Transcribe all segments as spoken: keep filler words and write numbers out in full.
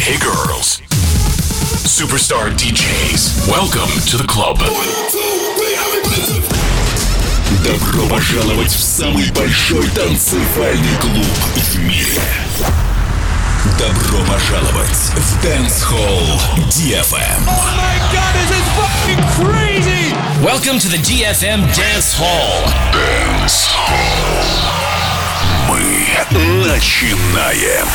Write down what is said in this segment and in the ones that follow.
Hey girls. Superstar ди джейс. Welcome to the club. Добро пожаловать в самый большой танцевальный клуб в мире. Добро пожаловать в Dance Hall ди эф эм. Oh my god, this is fucking crazy! Welcome to the ди эф эм Dance Hall. Dance Hall. Мы начинаем.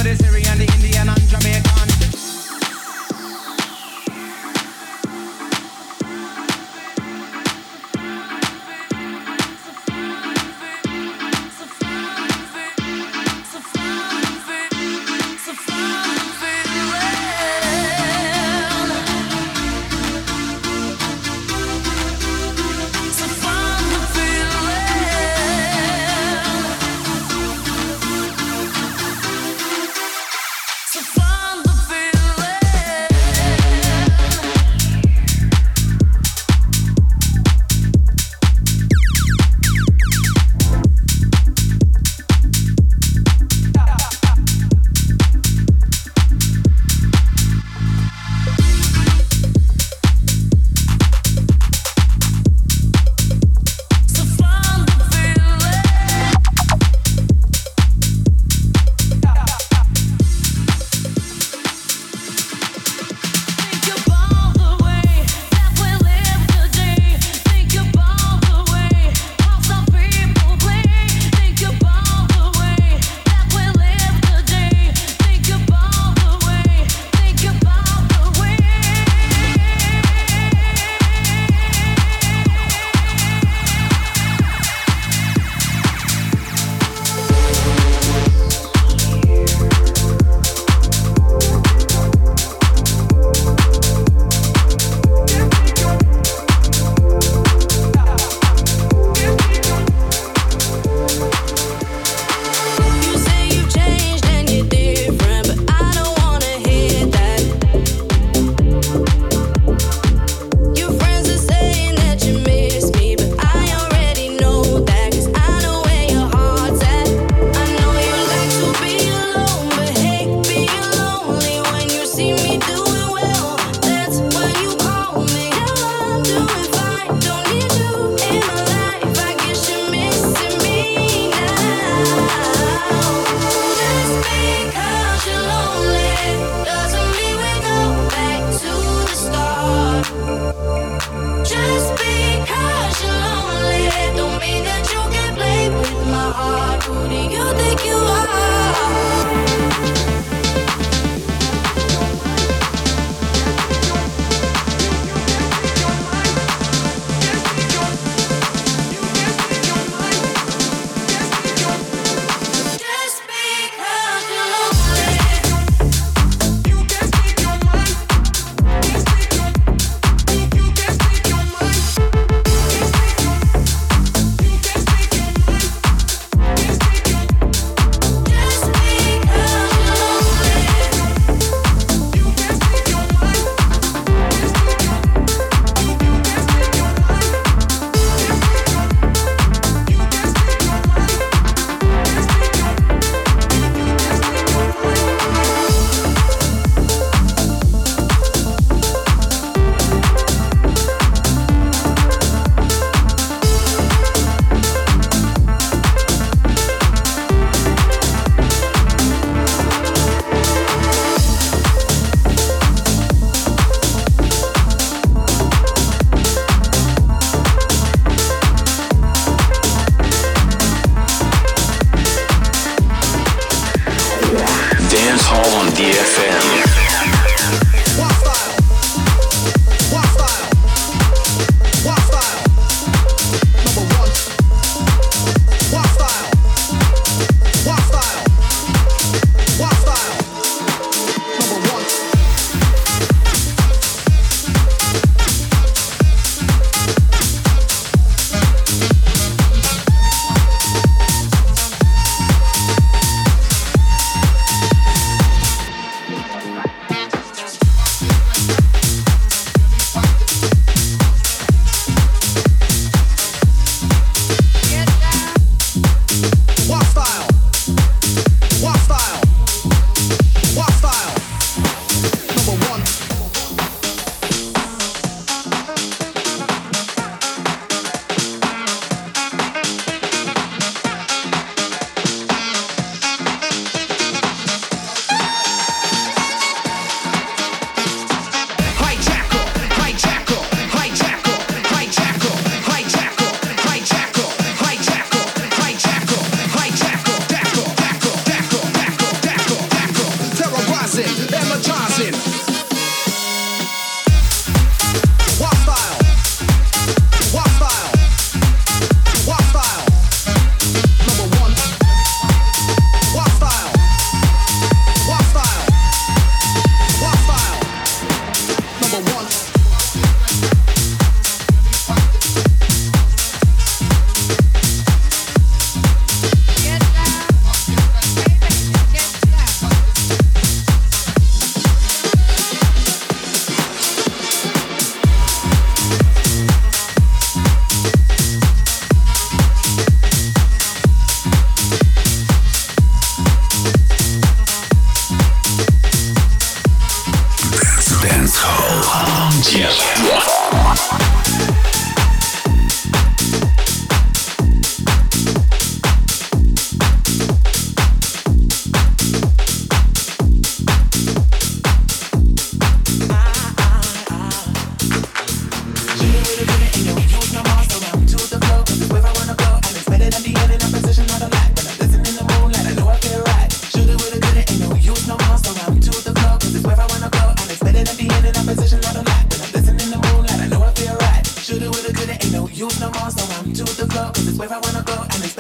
the Syrian, the Indian and Jamaican.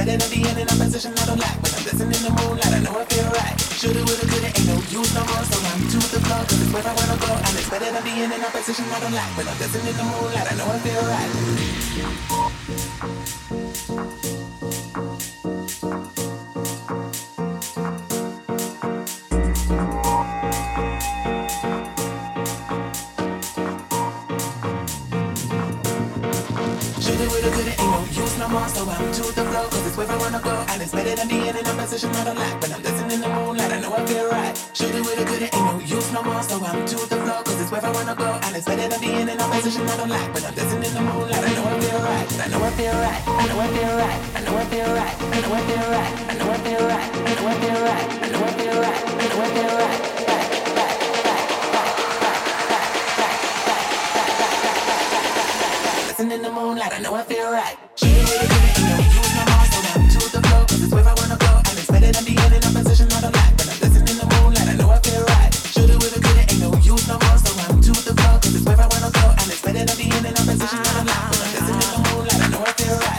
better than being in a position I don't like. When I'm dancing in the moonlight, I know I feel right. Shoulda, woulda, coulda, ain't no use no more. So I'm to the floor, cause it's where I wanna go. And it's better than being in a position I don't like. When I'm dancing in the moonlight, I know I feel right. So I'm to the floor, cause it's where I wanna go. And it's better than being in a position I don't like. When I'm dancing in the moonlight, I know I feel right. Shoulda, woulda, coulda, ain't no use no more. So I'm to the floor, cause it's where I wanna go. And it's better than being in a position I don't like. When I'm dancing in the moonlight, I know I feel right. I know I feel right. I know I feel right. I know I feel right. I know I feel right. I know I feel right. I know I feel right. I know I feel right. I know I feel right. Dancing in the moonlight, I know I feel right. Shoulda, woulda, coulda, ain't no use no more. So I'm to the floor, cause it's where I wanna go. And it's better than being in a position I don't like. When I'm dancing in the moonlight, I know I feel right. Shoulda, woulda, coulda, ain't no use no more. So I'm to the floor, cause it's where I wanna go. And it's better than being in a position I don't like. When I'm dancing in the moonlight, I know I feel right.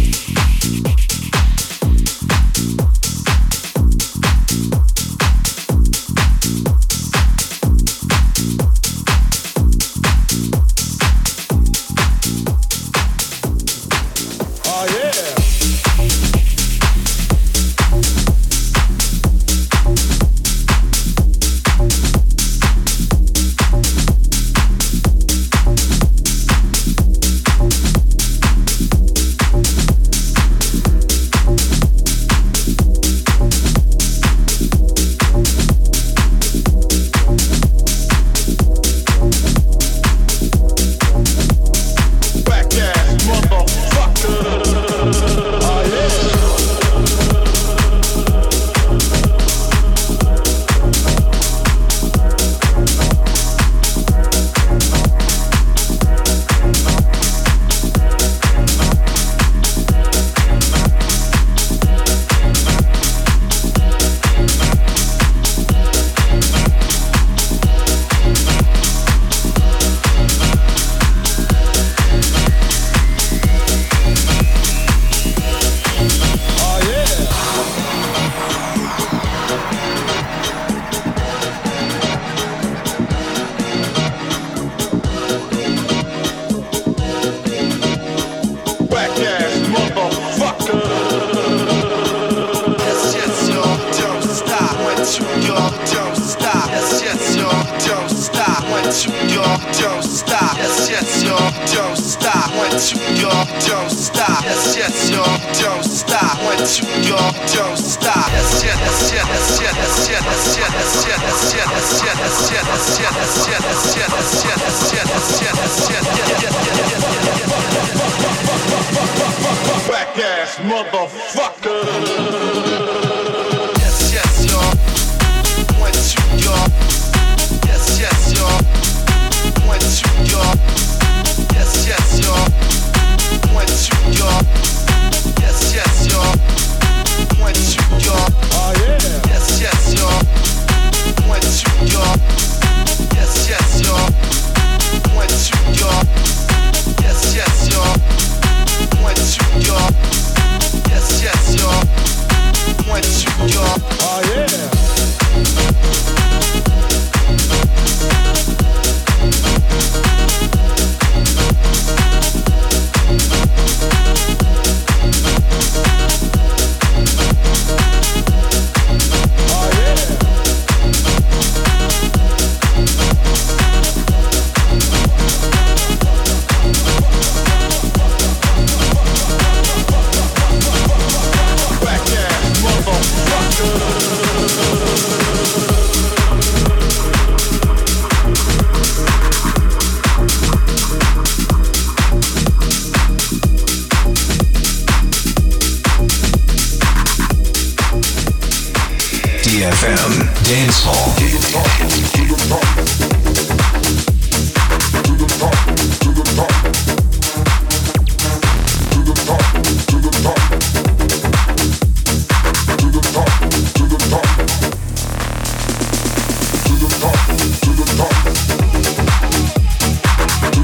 D F M Dance Hall.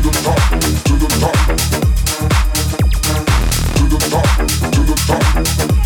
To the top.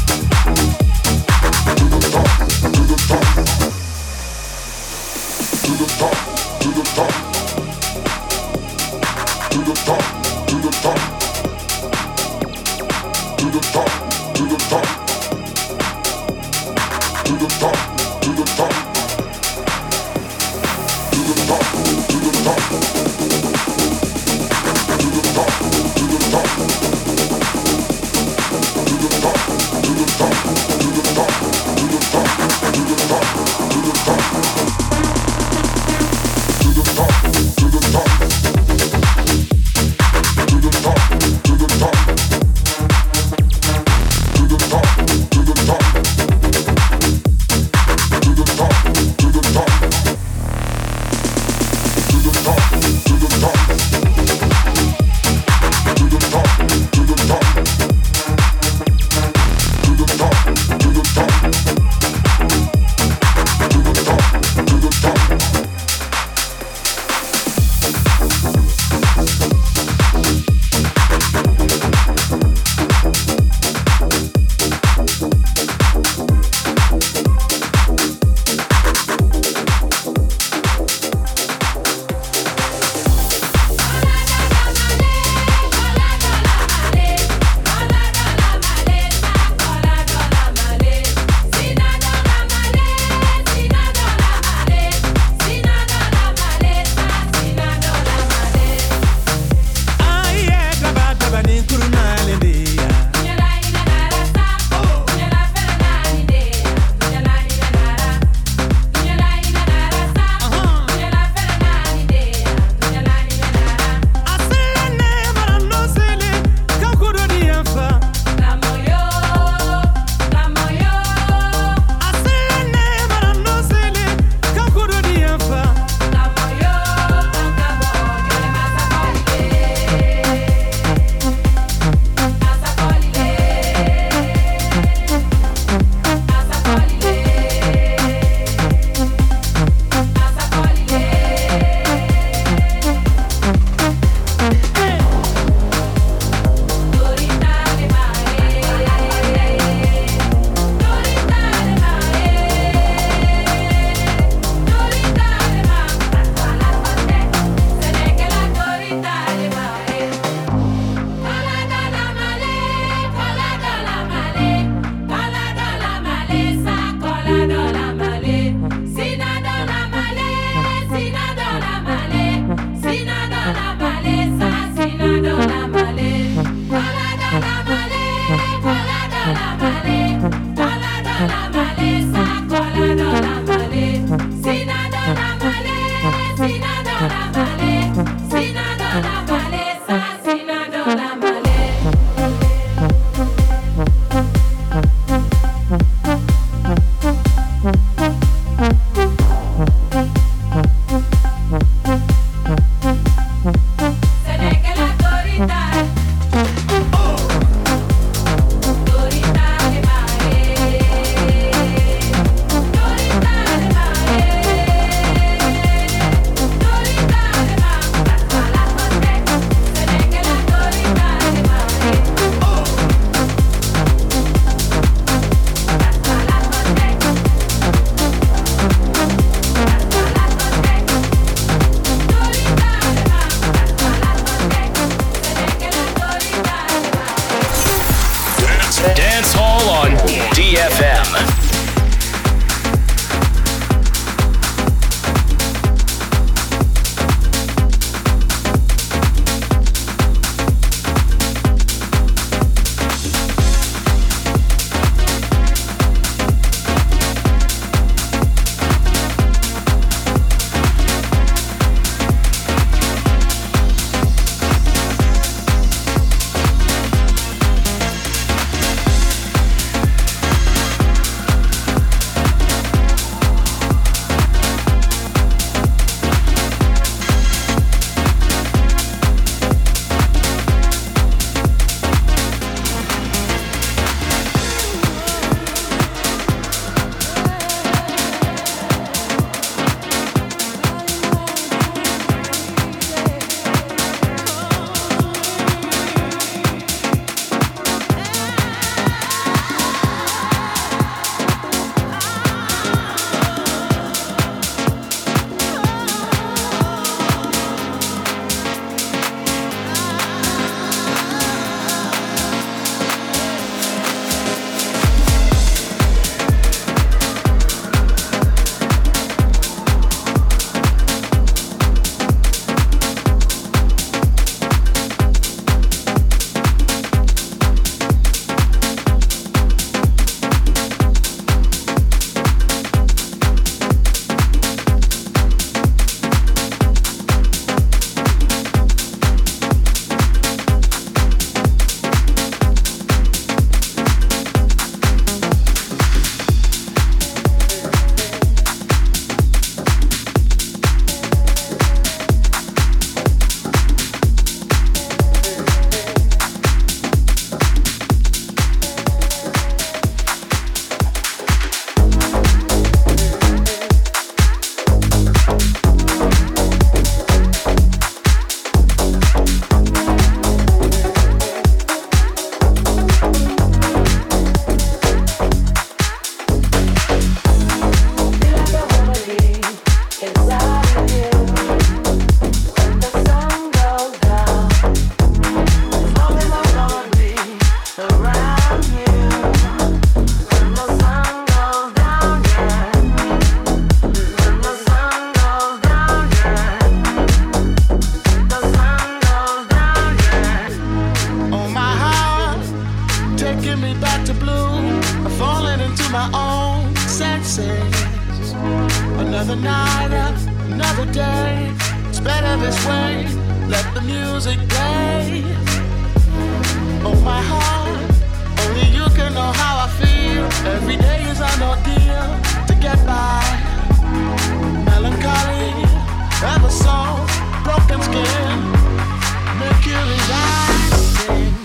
Another night, another day. It's better this way. Let the music play. Oh my heart, only you can know how I feel. Every day is an ordeal to get by. Melancholy, ever so broken skin. Mercury rising.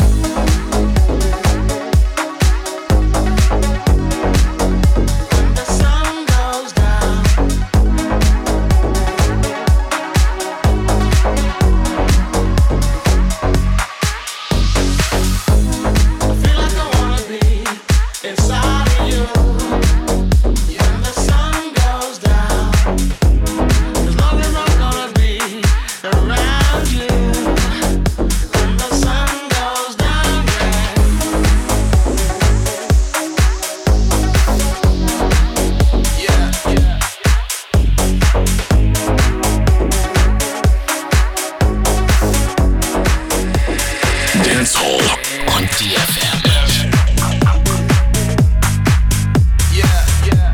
When the sun goes down. I feel like I wanna be inside of you. When the sun goes down. As long as I'm gonna be around you. When the sun goes down, yeah. Yeah, yeah. Dance Hall on D F M. Yeah, yeah.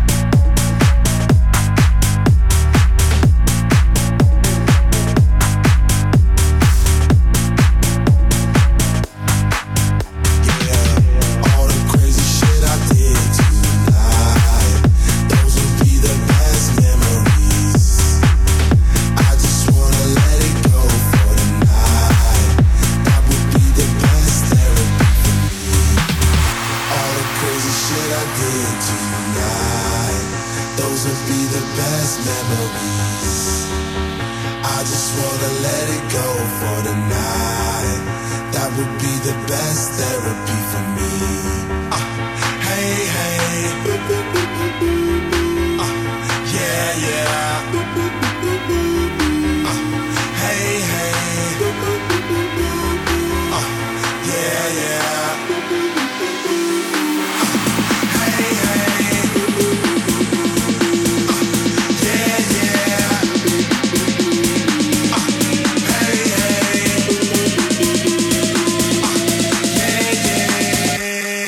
All the crazy shit I did tonight, those will be the best memories. I just wanna let it go for the night. That would be the best therapy for me. All the crazy shit I did tonight, those will be the best memories. I just wanna let it go for the night. That would be the best therapy for me. Uh, hey, hey. Uh, yeah, yeah. Uh, hey, hey. Uh, yeah, yeah. Uh, hey, hey. Uh, yeah, yeah. Uh, hey, hey. Yeah, yeah.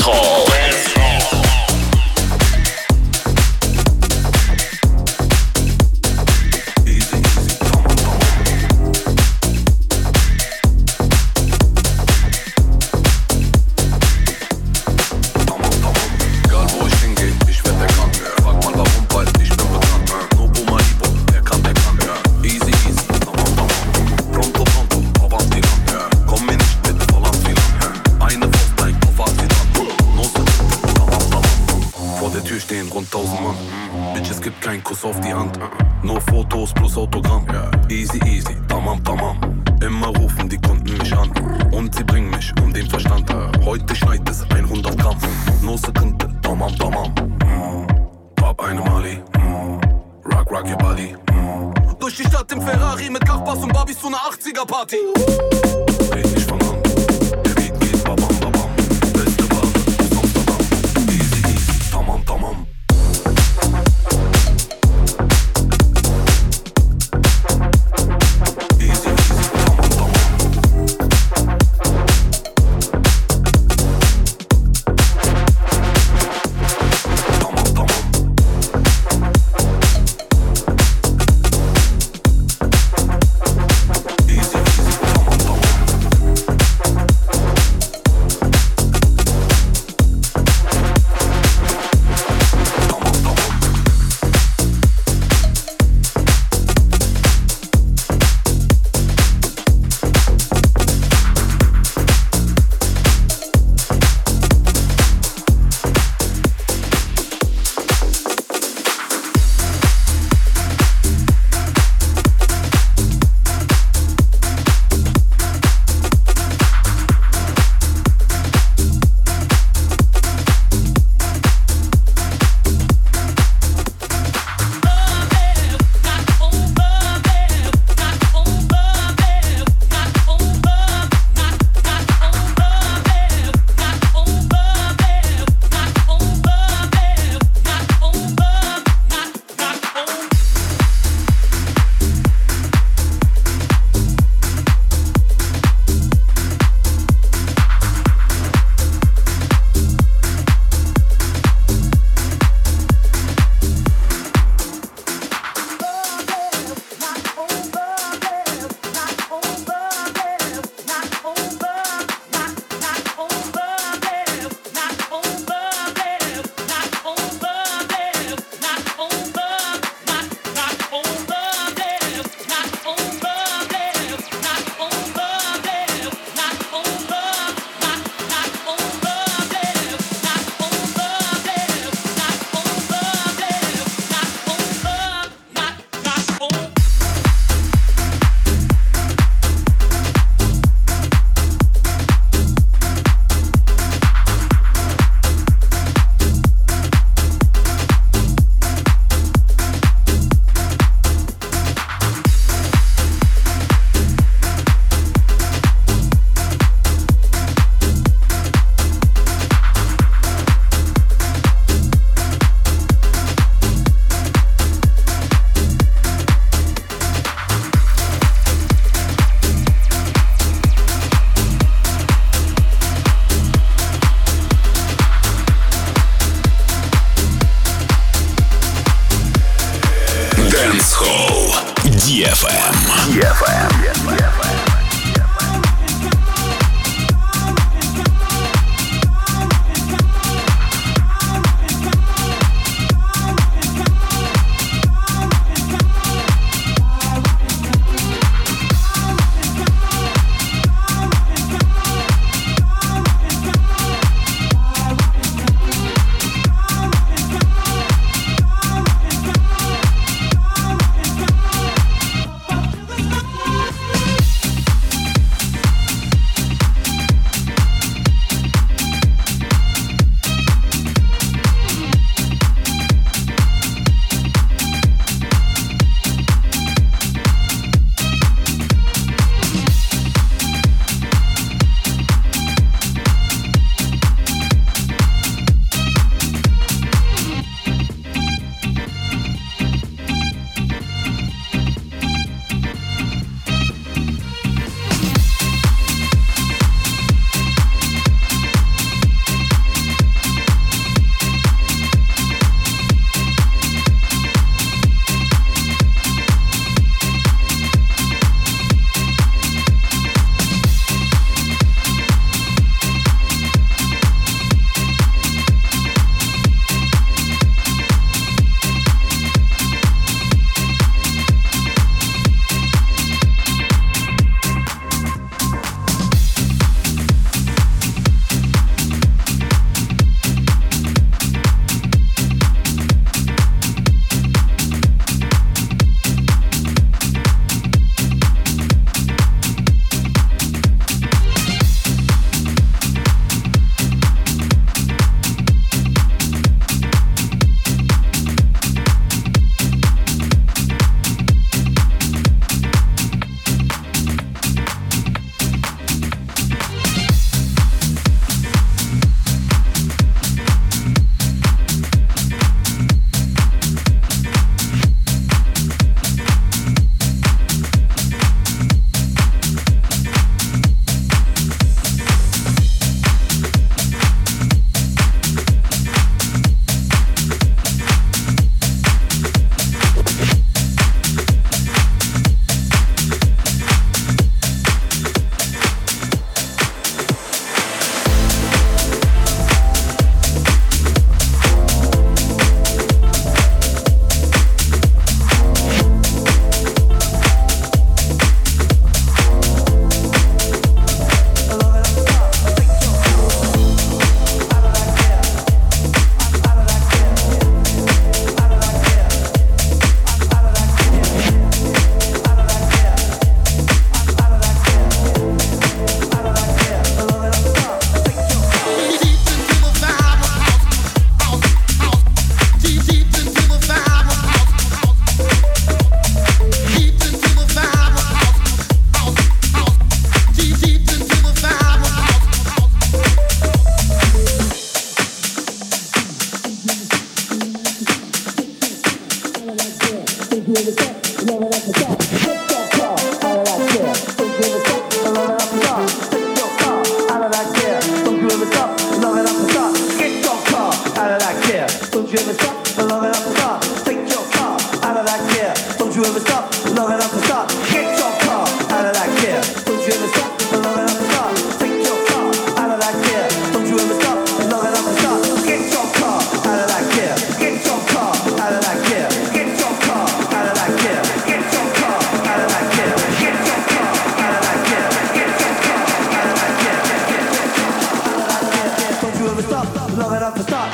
Hall. Auf die Hand, nur Fotos plus Autogramm. Easy, easy, tamam, tamam. Immer rufen die Kunden mich an und sie bringen mich um den Verstand. Heute schneit es hundert Gramm, nur Sekunde, tamam, tamam. Pop eine Mali, rock, rock your body. Durch die Stadt im Ferrari mit Kachbass und Barbies zu einer achtziger Party. Red nicht von an, der Beat geht babam, babam. Beste Ware aus Amsterdam. Easy, easy, tamam, tamam. love it off the top.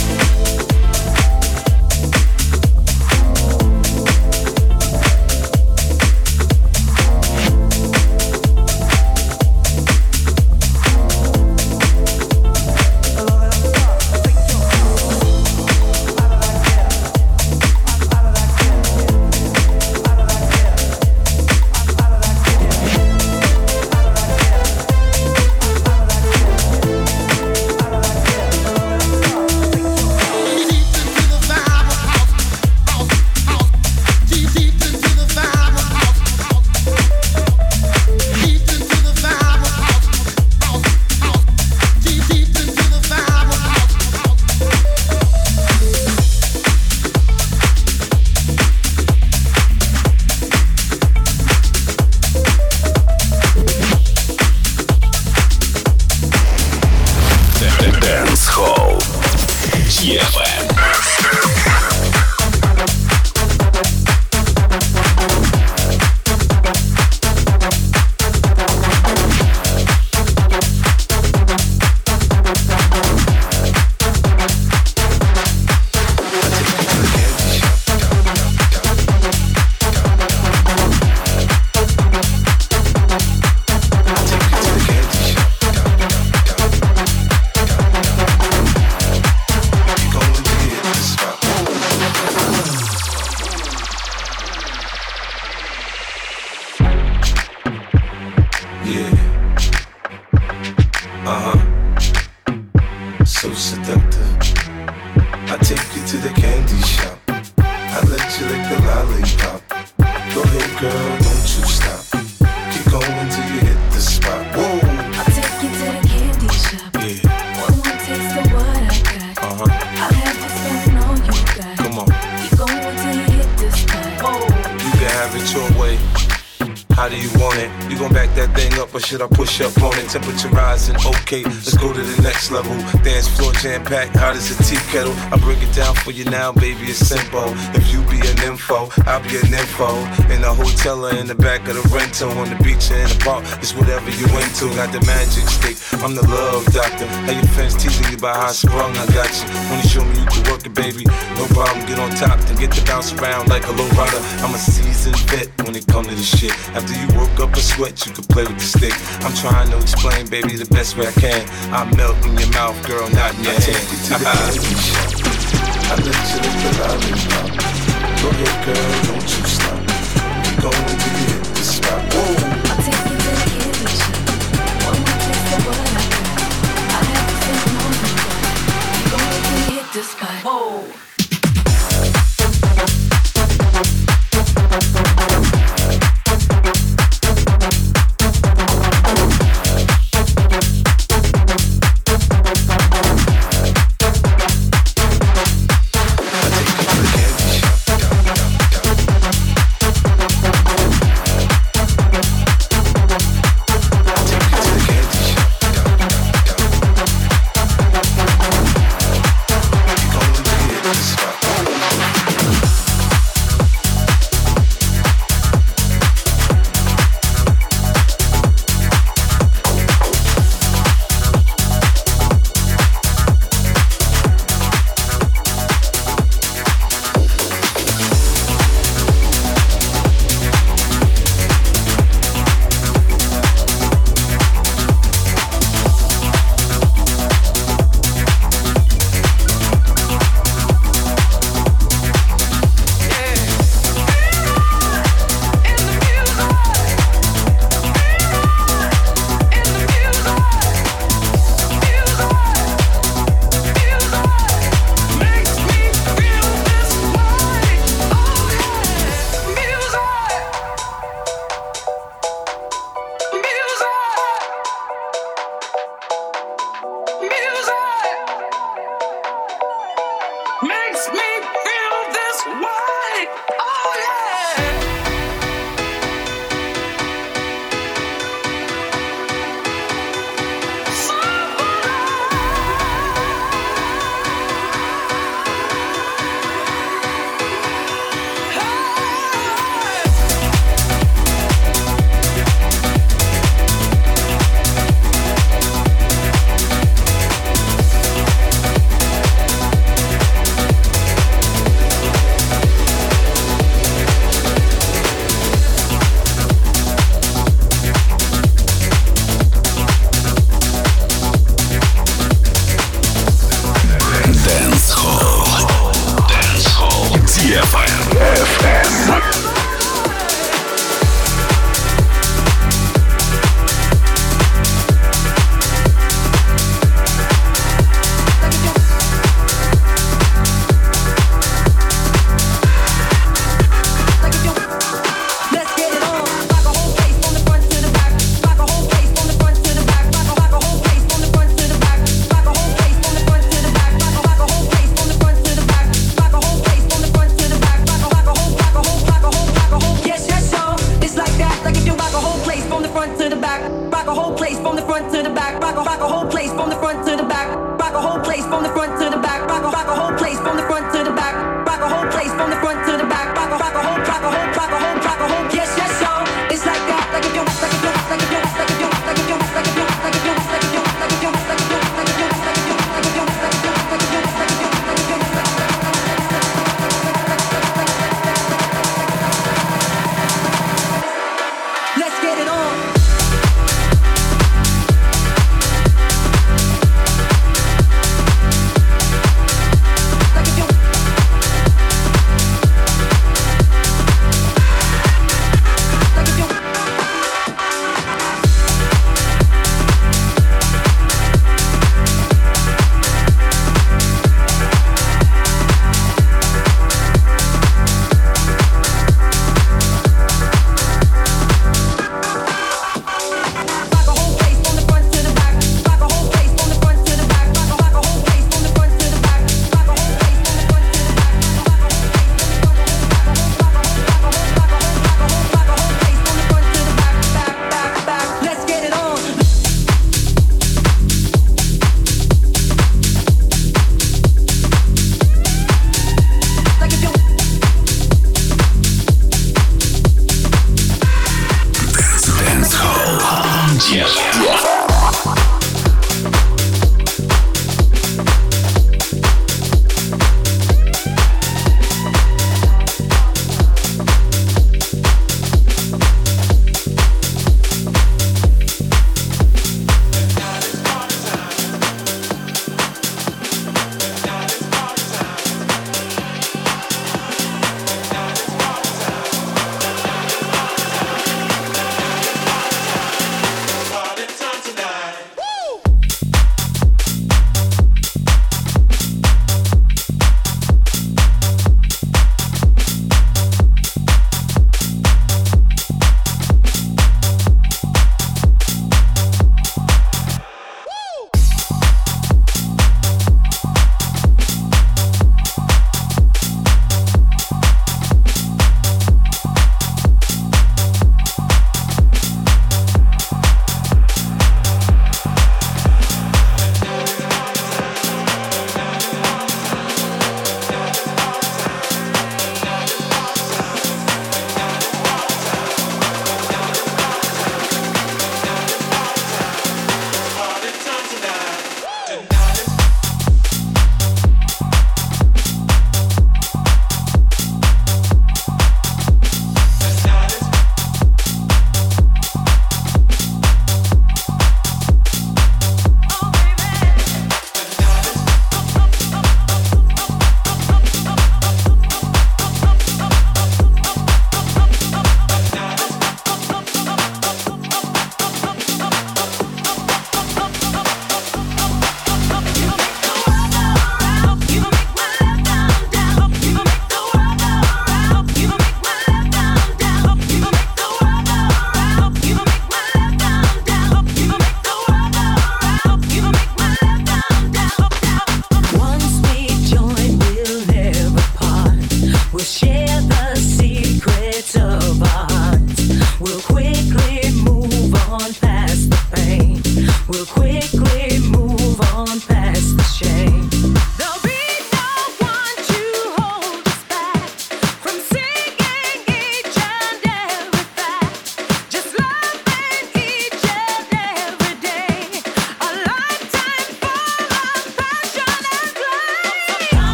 Should I push up on it? Temperature rising, okay, let's go to the next level. Dance floor jam-packed, hot as a tea kettle. I break it down for you now, baby, it's simple. If you be an info, I'll be an info. In a hotel or in the back of the rental, on the beach or in the park, it's whatever you into. Got the magic stick, I'm the love doctor. How your fans teasing you about how I sprung, I got you. Wanna show me you can work it, baby? No problem, get on top and get to bounce around like a low rider. I'm a seasoned vet when it comes to this shit. After you work up a sweat, you can play with the stick. I'm trying to explain, baby, the best way I can. I melt in your mouth, girl, not in your I hand. You to the I let you lick the lollipop. Go ahead, girl, don't you stop. Keep going till you hit the spot. Whoa. I'll take you to the candy shop. One more taste of what I got. I have to say no more. Keep going till you hit the spot. Whoa.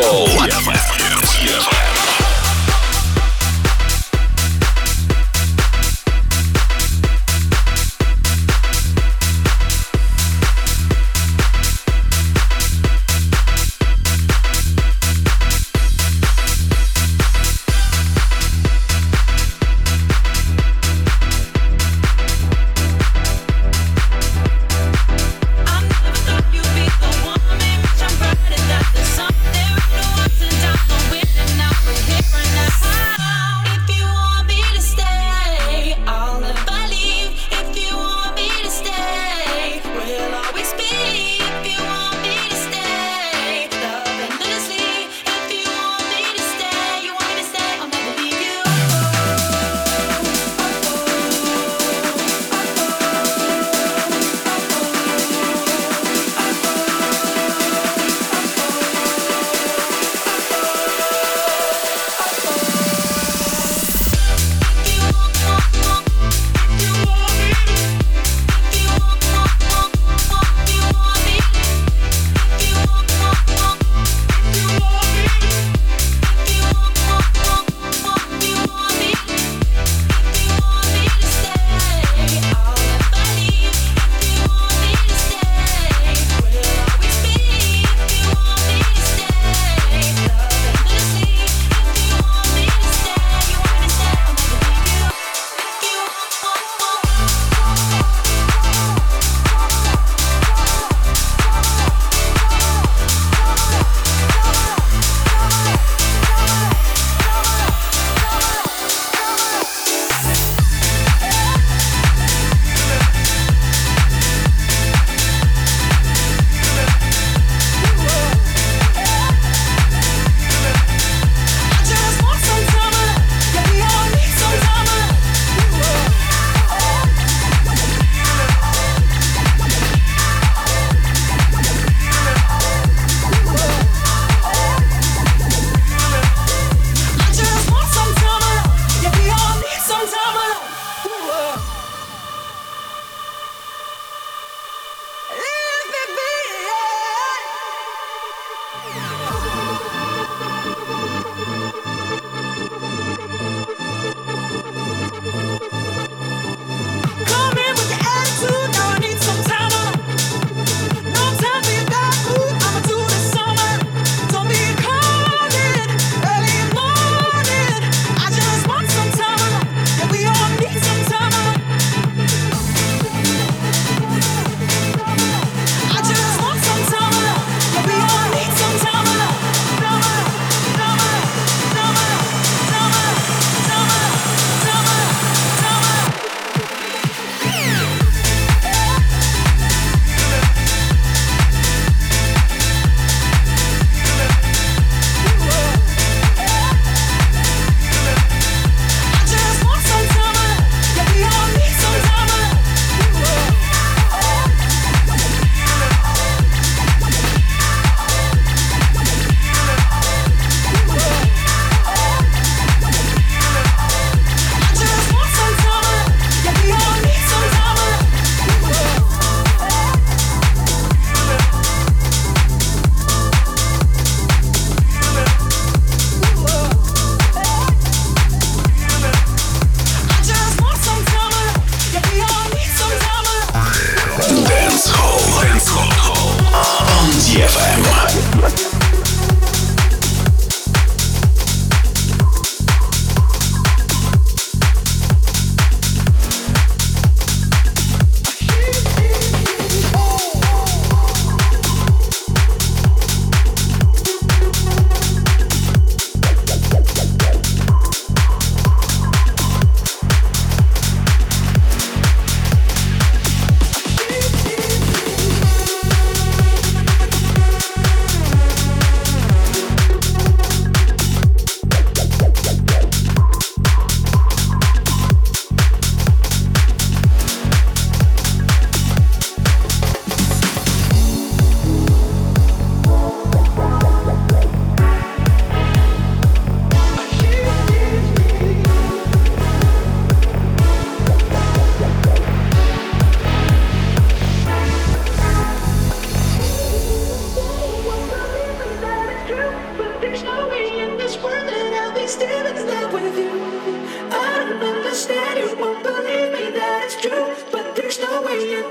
Dancehall. I never thought you'd be the one, maybe I'm right, and that there's something we know.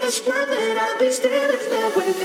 just know that I'll be still in love with